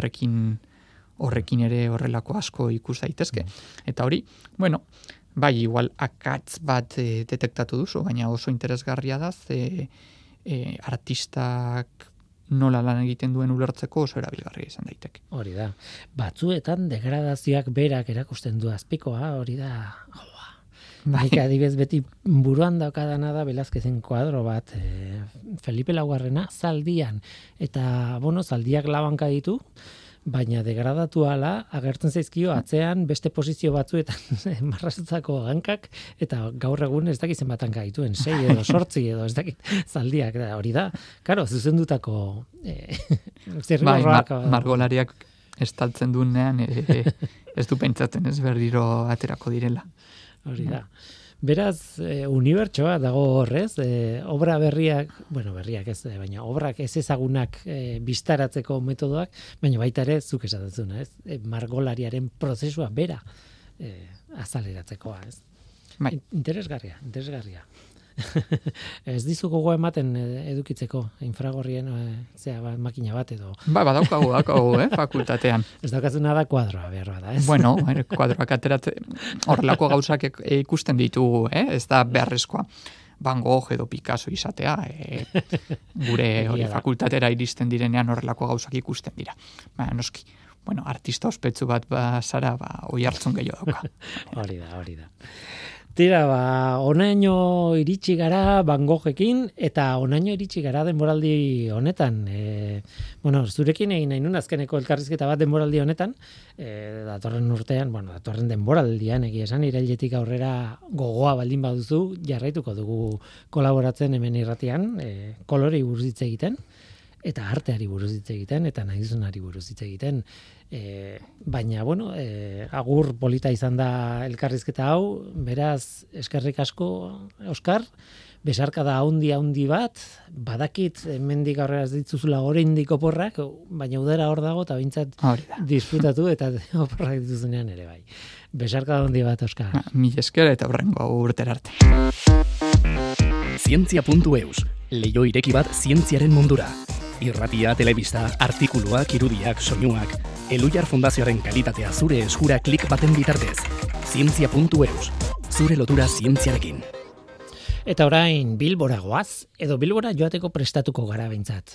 Horrekin ere horrelako asko ikus daitezke. Eta hori, bai, igual akatz bat detektatu duzu, baina oso interesgarria da, artistak nola lan egiten duen ulertzeko oso erabilgarria izan daiteke. Hori da. Batzuetan degradazioak berak erakusten du azpikoa, hori da. Nik adibez beti buruan daukadana da Velázquezen kuadro bat, Felipe Laugarrena, zaldian. Eta, zaldiak labanka ditu, baina degradatu ala, agertzen zaizkio atzean beste posizio batzuetan marrazutako hankak, eta gaur egun ez dakit zenbat hanka dituen, 6 edo 8 edo ez dakit zaldiak, hori da, karo, zuzendutako zirriborroak. Margolariak estaltzen duenean, ez du pentsatzen ez berriro aterako direla. Hori da. Beraz, unibertsoa dago horrez, obra berriak ez, baina obrak ez ezagunak bistaratzeko metodoak, baina baita ere, zuk esatzen ez? Margolariaren prozesua bera azaleratzekoa, ez? Bai. Interesgarria. Ez dizuko ematen edukitzeko infragorrien makina bat edo. Badaukagu, fakultatean. Ez daukazuna da kuadroa behar bada, ez? Kuadroak ateratzen, horrelako gauzak ikusten ditugu, ez da beharrezkoa. Van Gogh edo Picasso izatea, gure fakultatera iristen direnean horrelako gauzak ikusten dira. Noski, artista ospetsu bat zara, oi hartzun gehiago dauka. Hori da. Tira, onaino iritsi gara Van Goghekin, eta onaino iritsi gara denboraldi honetan. Zurekin egin nahi nun azkeneko elkarrizketa bat denboraldi honetan, datorren urtean, datorren denboraldian egia esan, irailetik aurrera gogoa baldin baduzu, jarraituko dugu kolaboratzen hemen irratian, kolorei buruz hitz egiten, eta arteari buruz hitz egiten, eta nahi duzunari buruz hitz egiten. Baina, agur polita izan da elkarrizketa hau, beraz, eskerrik asko, Oskar, besarkada haundi bat, badakit hemendik aurrera ez dituzula oraindik oporrak, baina udara hor dago, eta bintzat disfrutatu, eta oporrak dituzunean ere bai. Besarkada haundi bat, Oskar. Mil esker eta horrengo urtera arte. Zientzia.eus, leiho ireki bat zientziaren mundura. Irratia, telebista, artikuluak, irudiak, soinuak, Elujar Fundazioaren kalitatea zure eskura klik baten bitartez. Zientzia.eus, zure lotura zientziarekin. Eta orain Bilbora goaz, edo Bilbora joateko prestatuko gara behintzat.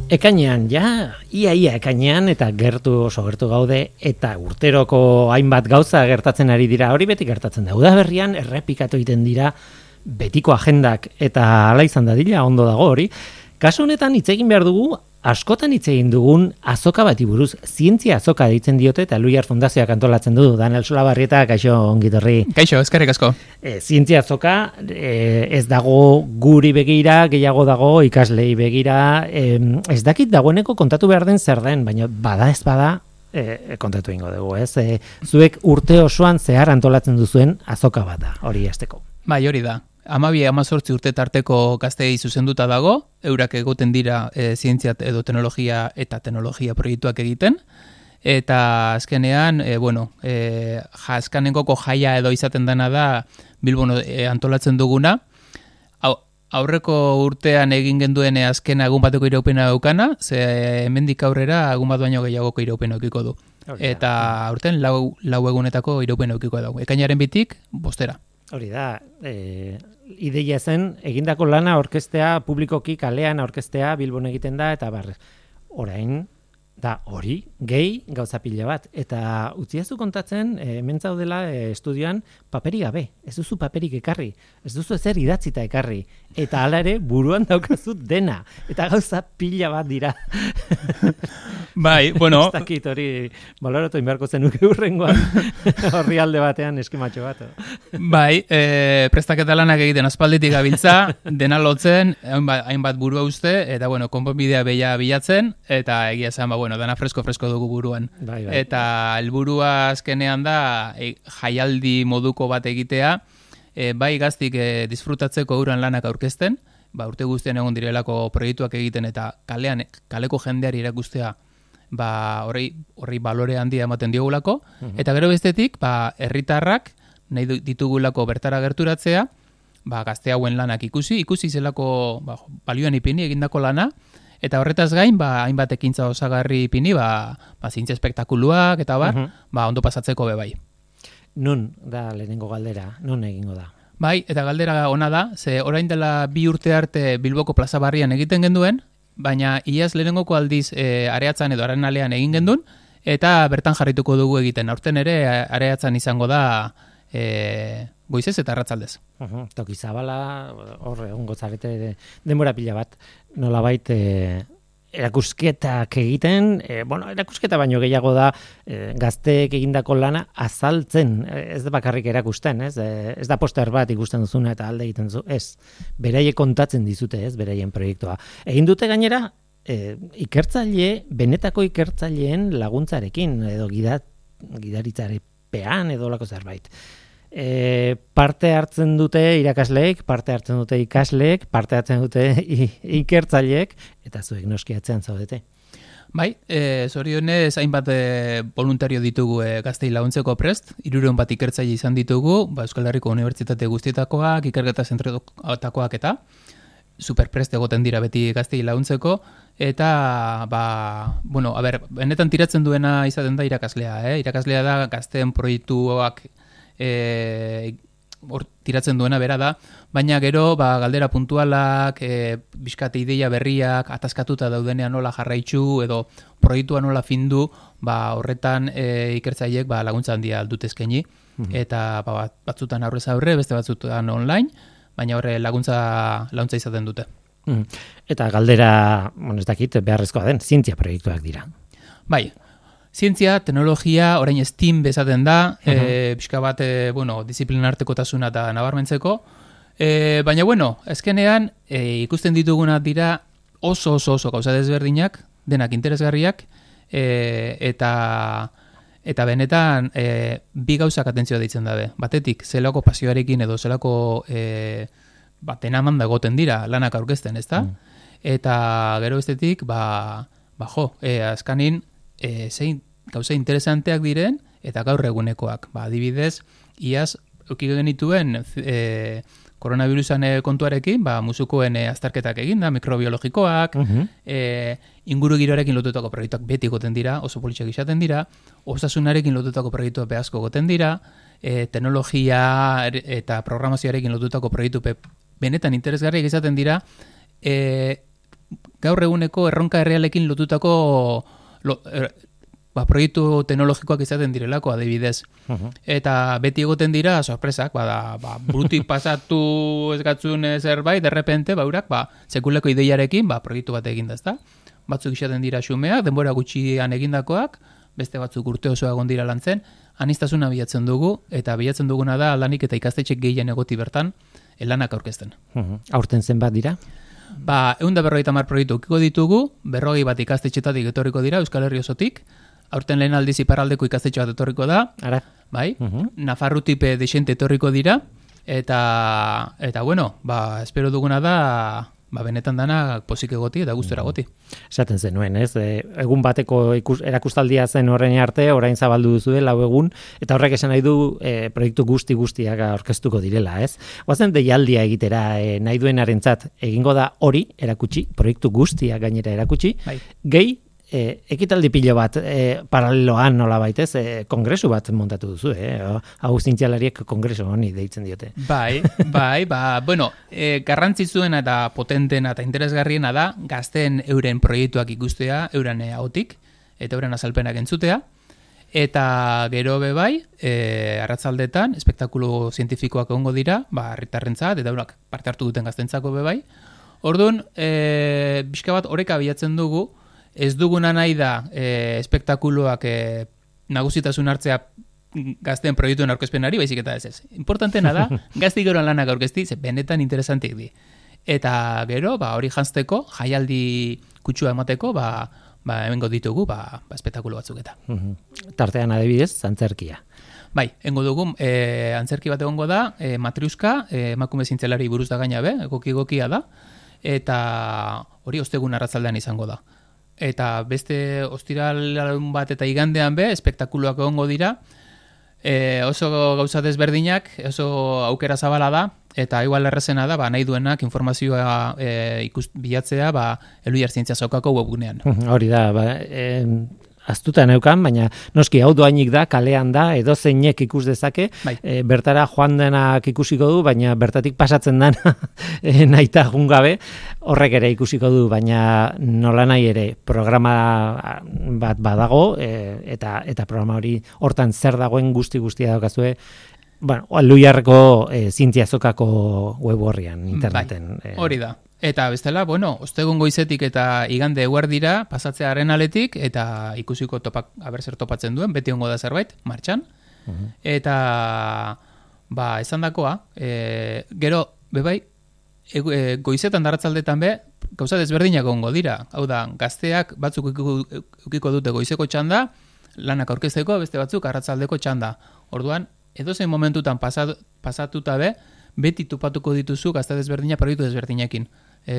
Ekainean, ia ekainean, eta oso gertu gaude, eta urteroko hainbat gauza gertatzen ari dira, hori beti gertatzen da. Udaberrian errepikatu egiten dira betiko agendak, eta hala izan dadila, ondo dago hori. Kasu honetan hitz egin behar dugu, askotan hitz egin dugun azoka bati buruz, zientzia azoka deitzen diote, eta Luiar Fundazioak antolatzen du, Daniel Solabarrieta, kaixo ongitorri. Kaixo, eskerrik asko. Zientzia azoka ez dago guri begira, gehiago dago ikaslei begira, ez dakit dagoeneko kontatu behar den zer den, baina bada ez bada, kontatu ingo dugu, ez? Zuek urte osoan zehar antolatzen duzuen azoka bat da, hori hasteko. Bai, hori da. 12-18 urte tarteko gazteei zuzenduta dago, eurak egoten dira zientzia edo teknologia eta teknologia proiektuak egiten, eta azkenean, azkenengoko jaia edo izaten dena da Bilbon antolatzen duguna, aurreko urtean egin genduen azken egun bateko iraupena daukana, ze hemendik aurrera egun bat baino gehiagoko iraupena edukiko du. Eta aurten lau egunetako iraupena edukiko dago. Ekainaren 2tik 5. Hori da, ideia zen, egindako lana orkestea, publikoki kalean orkestea Bilbon egiten da, eta orain, da hori, gehi gauza pila bat. Eta utziazu kontatzen, hemen zaudela estudioan, paperik gabe, ez duzu paperik ekarri, ez duzu ezer idatzita ekarri, eta hala ere buruan daukazu dena, eta gauza pila bat dira. Bai, bueno. Ez dakit hori, baloratu inbeharko zenuke hurrengoan, horri alde batean eskimatxo bat. Bai, prestaketa lanak egiten aspalditik gabiltza, dena lotzen, hainbat burua uste, eta konponbidea bilatzen, eta egia esan, dena fresko dugu buruan. Bai. Eta helburua azkenean da, jaialdi moduko bat egitea, bai gaztik disfrutatzeko euran lanak aurkezten, urte guztian egon direlako proiektuak egiten eta kaleko jendeari erakustea horri balore handia ematen diogulako, eta gero bestetik, herritarrak nahi ditugulako bertara gerturatzea, gazte hauen lanak ikusi zelako balioan ipini egindako lana, eta horretaz gain, hainbat ekintza osagarri ipini, zientzia espektakuluak, eta ondo pasatzeko bai. Nun da lehenengo galdera, nun egingo da? Bai, eta galdera ona da, ze orain dela 2 urte arte Bilboko plaza barrian egiten genduen, baina iaz lehenengoko aldiz Areatzan edo Arenalean egin gendun, eta bertan jarrituko dugu egiten. Aurten ere Areatzan izango da goizez eta arratsaldez. Toki zabala, horre, ongo zarete denbora pila bat, nolabait erakusketak egiten, erakusketa baino gehiago da gazteek egindako lana azaltzen, ez da bakarrik erakusten, ez da poster bat ikusten duzuna eta alde egiten zu, ez, beraiek kontatzen dizute, ez, beraien proiektua. Egin dute gainera, benetako ikertzaileen laguntzarekin, edo gidaritzarepean edo lako zerbait. Parte hartzen dute irakasleek, parte hartzen dute ikasleek, parte hartzen dute ikertzaileek, eta zuek noski atzean zaudete. Bai, zorionez hainbat voluntario ditugu gaztei laguntzeko prest, 300 bat ikertzaile izan ditugu, Euskal Herriko Unibertsitate guztietakoak, ikerketa zentrotakoak eta superprest egoten dira beti gaztei laguntzeko, eta, benetan tiratzen duena izaten da irakaslea, irakaslea da gazteen proiektuak tiratzen duena bera da, baina gero galdera puntualak, bizkate ideia berriak, ataskatuta daudenean nola jarraitzu edo proiektua nola findu, horretan ikertzaileek laguntza handia aldut eskaini, eta batzutan aurrez aurre, beste batzutan online, baina horre laguntza izaten dute. Eta galdera, ez dakit, beharrezkoa den, zientzia proiektuak dira. Bai, zientzia, teknologia, orain STEAM bezaten da, pixka bat, disiplina artekotasuna eta nabarmentzeko, baina, ezkenean, ikusten dituguna dira oso gauza desberdinak, denak interesgarriak, eta benetan, bi gauzak atentzioa deitzen dabe. Batetik, zelako pasioarekin edo zelako tenaman dagoten dira lanak aurkezten, ezta? Eta gero bestetik, azkanin, zein gauza interesanteak diren eta gaur egunekoak. Adibidez, iaz euki genituen koronavirusan kontuarekin, musukoen azterketak egin da, mikrobiologikoak, inguru giroarekin lotutako proiektuak beti goten dira, oso politxak izaten dira, osasunarekin lotutako proiektuak behazko goten dira, teknologia eta programazioarekin lotutako proiektu benetan interesgarriak izaten dira, gaur eguneko erronka errealekin lotutako proiektu teknologikoak izaten direlako adibidez. Eta beti egoten dira sorpresak, burutik pasatu ez gatzun zerbait, derrepente, urak, sekuleko ideiarekin, proiektu bat egin da, ezta? Batzuk izaten dira xumeak, denbora gutxian egindakoak, beste batzuk urte osoa egon dira lantzen, aniztasuna bilatzen dugu, eta bilatzen duguna da aldanik eta ikastetxek gehien egoti bertan, lanak aurkezten. Aurten zenbat dira? 150 proiektu ukiko ditugu, 40 bat ikastetxetatik etorriko dira, Euskal Herri osotik, aurten lehen aldiz iparraldeko ikastetxe bat etorriko da, bai, Nafarrutipe desente etorriko dira, eta bueno, espero duguna da, benetan dana pozik egoti eta gustora egoti. Esaten zenuen, ez? Egun bateko erakustaldia zen horren arte, orain zabaldu duzue 4 egun, eta horrek esan nahi du proiektu guztiak aurkeztuko direla, ez? Goazen deialdia egitera nahi duenarentzat egingo da hori erakutsi, proiektu guztiak gainera erakutsi, gehi ekitaldi pilo bat paraleloan nola baitez, kongresu bat montatu duzu, hau zientzialariek kongresu honi deitzen diote. Bai, bueno, garrantzizuena eta potentena eta interesgarriena da gazteen euren proiektuak ikustea, euren ahotik, eta euren azalpenak entzutea, eta gero bai, arratzaldetan, espektakulu zientifikoak egongo dira, herritarrentzat, eta eurak parte hartu duten gaztentzako bai. Orduan, pixka bat oreka bilatzen dugu, ez duguna nahi da espektakuluak nagusitasun hartzea gazteen proiektuen aurkezpenari, baizik eta ez. Importantena da, gaztik geroan lanak aurkezti, benetan interesantik di. Eta gero, hori jantzteko, jaialdi kutsua emateko, hemengo ditugu, espektakulu batzuk eta. Tartean adibidez, antzerkia. Bai, engo dugu, antzerki bat egongo da, matriuska, emakume zientzialari buruz da gaina egokia da, eta hori ostegun arratzaldean izango da. Eta beste ostiral bat eta igandean espektakuluak egongo dira, oso gauza desberdinak, oso aukera zabala da, eta igual errazena da, nahi duenak informazioa bilatzea, Elhuyar Zientzia Sokako webgunean. Hori da, aztuta neukan, baina noski hau doainik da, kalean da, edo zeinek ikus dezake, bertara joan denak ikusiko du, baina bertatik pasatzen den nahita jungabe, horrek ere ikusiko du, baina nola nahi ere programa bat badago, eta programa hori hortan zer dagoen guztia daukazue, Elhuyarreko Zientzia Sokako web horrian, interneten. Hori da. Eta bestela, ostegun goizetik eta igande eguerdira pasatzea Arenaletik eta ikusiko zer topatzen duen, beti ongo da zerbait, martxan. Eta, esandakoa, gero, goizetan darratzaldetan gauza desberdinak ongo dira. Hau da, gazteak batzuk ukiko dute goizeko txanda, lanak aurkezteko, beste batzuk arratzaldeko txanda. Orduan, edozein momentutan pasatuta beti topatuko dituzu gazte desberdinak proiektu desberdinekin.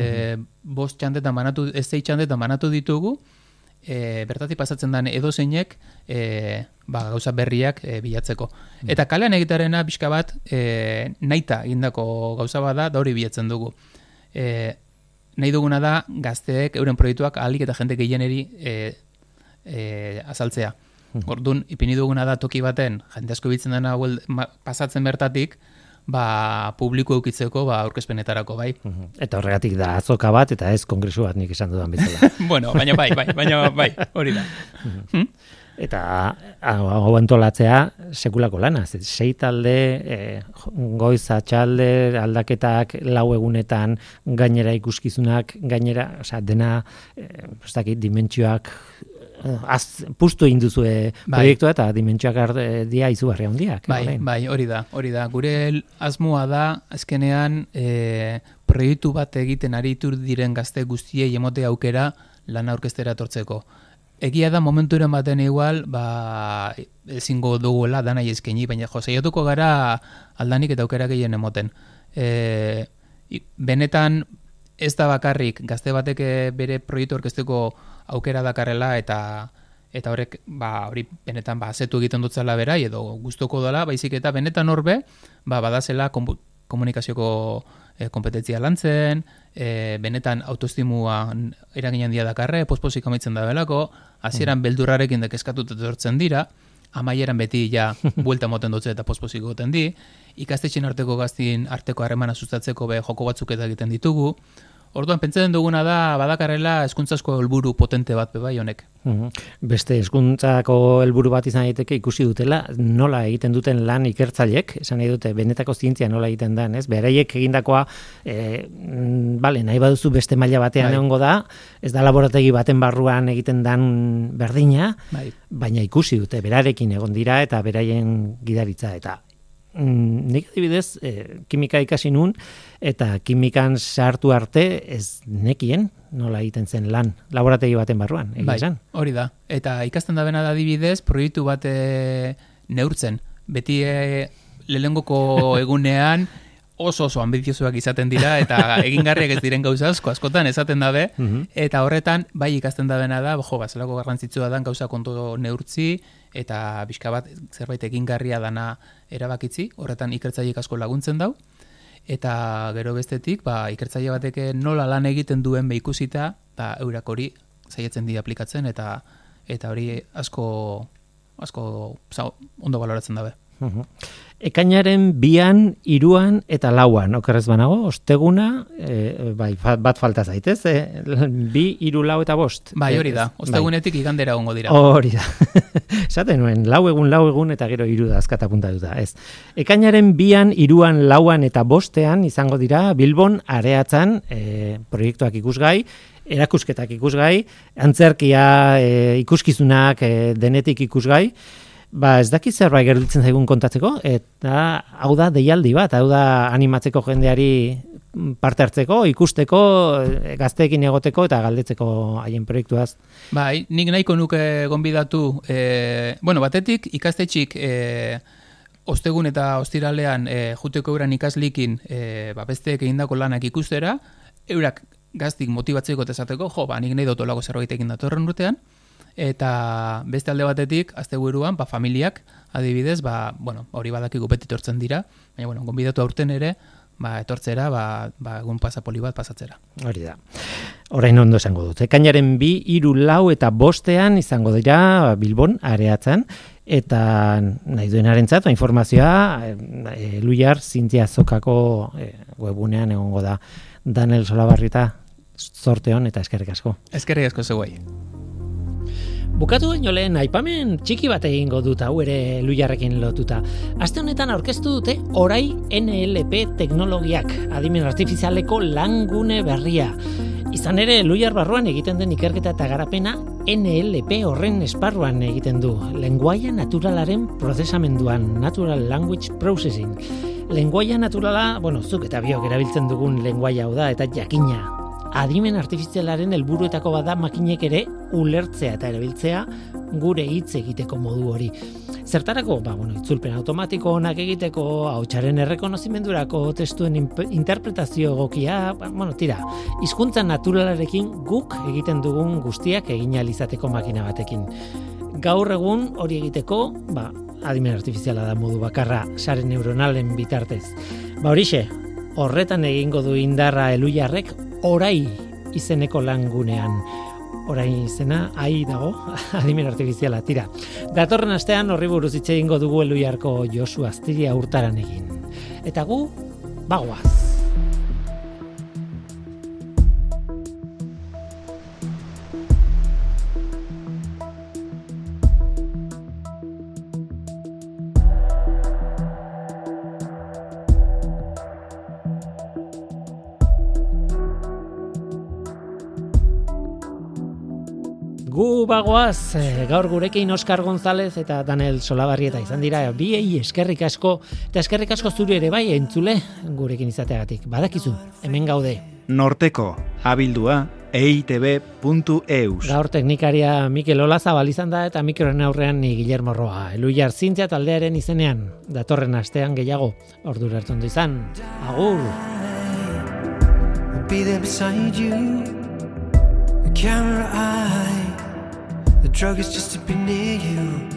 5 txandetan banatu, 6 txandetan banatu ditugu, bertatik pasatzen den edozeinek gauza berriak bilatzeko. Eta kalean egitarena pixka bat nahita egindako gauza bada, da hori bilatzen dugu. Nahi duguna da gazteek euren proiektuak ahalik eta jende gehieneri azaltzea. Orduan, ipini duguna da toki baten, jende asko biltzen dena pasatzen bertatik, publiko eukitzeko aurkezpenetarako, bai. Eta horregatik da azoka bat, eta ez kongresu bat nik esan dudan bezala. Bueno, baina bai, hori da. Eta hau antolatzea sekulako lana, 6 talde, goiz atxalde, aldaketak 4 egunetan, gainera ikuskizunak, gainera, dena, dimentsioak, puztu egin duzue proiektua eta dimentsioak dia izugarri handiak. Bai, hori da. Gure asmoa da, azkenean, proiektu bat egiten aritu diren gazte guztiei emote aukera lana aurkeztera etortzeko. Egia da momenturen baten igual, ezingo duguela danai eskaini, baina saiatuko gara aldanik eta aukera gehien emoten. Benetan ez da bakarrik gazte batek bere proiektu aurkezteko aukera dakarrela eta horrek hori benetan azetu egiten dutzela berai edo gustoko dela, baizik eta benetan horbe badazela komunikazioko kompetentzia lantzen, benetan autoestimua eragin handia dakarre, pospozik amaitzen da belako, hasieran beldurrarekin kezkatuta etortzen dira, amaieran beti buelta moten dutze eta pospozik goten di, ikastetxen arteko gaztin arteko harremana sustatzeko joko batzuk eta egiten ditugu, Orduan, pentsatzen duguna da, badakarrela hezkuntzazko helburu potente bat bai honek. Beste hezkuntzako helburu bat izan daiteke ikusi dutela, nola egiten duten lan ikertzaileek, esan nahi dute, benetako zientzia nola egiten den, ez? Beraiek egindakoa, nahi baduzu beste maila batean egongo da, ez da laborategi baten barruan egiten dan berdina, baina ikusi dute, berarekin egon dira eta beraien gidaritza eta nik adibidez, kimika ikasi nun, eta kimikan sartu arte ez nekien nola egiten zen lan, laborategi baten barruan, esan. Hori da, eta ikasten da bena da adibidez, proiektu bat neurtzen, beti lehengoko egunean oso ambiziosoak izaten dira, eta egingarriak ez diren gauza askotan esaten dabe, eta horretan, bai ikasten da bena da, zelako garrantzitsua dan gauza kontu neurtzi, eta bizka bat zerbait egingarria dana erabakitzi, horretan ikertzaileek asko laguntzen dau, eta gero bestetik, ikertzaile batek nola lan egiten duen ikusita, eurak hori zaiatzen dira aplikatzen, eta hori asko ondo baloratzen dabe. Ekainaren 2, 3 eta 4, okerrez banago, osteguna, bat falta zaitez, 2, 3, 4 eta 5. Hori da, ostegunetik igandera ongo dira. Hori da, esaten nuen, 4 egun eta gero 3 da azkata puntatuta, ez. Ekainaren 2, 3, 4 eta 5 izango dira Bilbon Areatzan proiektuak ikusgai, erakusketak ikusgai, antzerkia ikuskizunak denetik ikusgai, ez dakit zerbait gertatzen zaigun kontatzeko, eta hau da deialdi bat, hau da animatzeko jendeari parte hartzeko, ikusteko, gazteekin egoteko eta galdetzeko haien proiektuaz. Nik nahiko nuke gonbidatu, batetik ikastetxik ostegun eta ostiralean juteko euran ikaslikin besteek egindako lanak ikustera, eurak gaztik motibatzeko eta esateko, nik nahi dotolako zerbait egin datorren urtean, eta beste alde batetik, asteburuan, familiak, adibidez, hori badakigu beti etortzen dira, baina, gonbidatu aurten ere, etortzera, egun pasapoli bat pasatzera. Hori da. Orain ondo esango dut. Ekainaren 2, 3, 4 eta 5 izango dira Bilbon Areatzan, eta nahi duenarentzat, informazioa, Luiar Zientzia Azokako webunean egongo da. Daniel Solabarrieta, zorte hon eta eskerrik asko. Eskerrik asko zeuei. Bukatu baino lehen aipamen txiki bat egingo dut hau ere Luiarrekin lotuta. Aste honetan aurkeztu dute Orai NLP teknologiak, adimen artifizialeko langune berria. Izan ere, Luiar barruan egiten den ikerketa eta garapena NLP horren esparruan egiten du. Lenguaia naturalaren prozesamenduan, Natural Language Processing. Lenguaia naturala, zuk eta biok erabiltzen dugun lenguaia hau da, eta jakina. Adimen artifizialaren helburuetako bada makinek ere ulertzea eta erabiltzea gure hitz egiteko modu hori. Zertarako? Itzulpen automatiko onak egiteko, ahotsaren errekonozimendurako, testuen interpretazio egokia, hizkuntza naturalarekin guk egiten dugun guztiak egin ahal izateko makina batekin. Gaur egun hori egiteko, adimen artifiziala da modu bakarra sare neuronalen bitartez. Horixe, horretan egingo du indarra Luiarrek Orai izeneko langunean. Orai izena, dago, adimen artifiziala, tira. Datorren astean horri buruz hitz egingo dugu Luiarko Josu Astiria Urtaran egin. Eta gu, bagoaz. Gu bagoaz, gaur gurekin Oskar González eta Daniel Solabarrieta izan dira, biei eskerrik asko, eta eskerrik asko zuri ere bai entzule gurekin izateagatik. Badakizu, hemen gaude. Norteko, abildua, eitb.eus. Gaur teknikaria Mikel Olazabal izan da eta mikroen aurrean ni Guillermo Roa. Luiar Zientzia taldearen izenean, datorren astean gehiago, ordura hartu ondo izan. Agur! Be there beside you, the camera eye. The drug is just to be near you.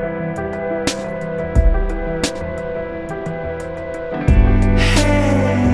Hey,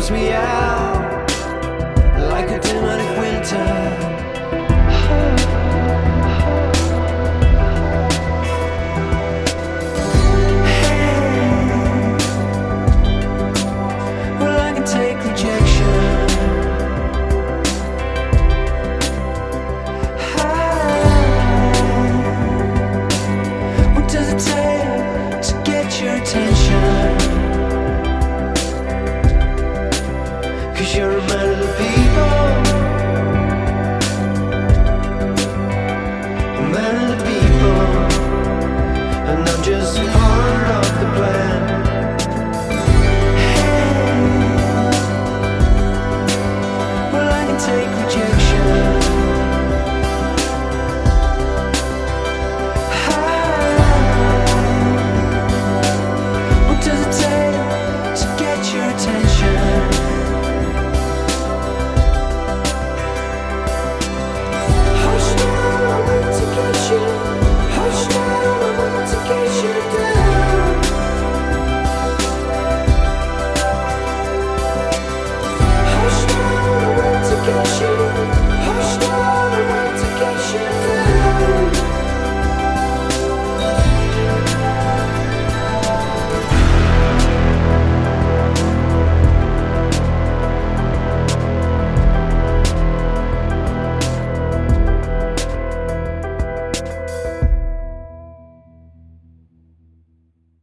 me out.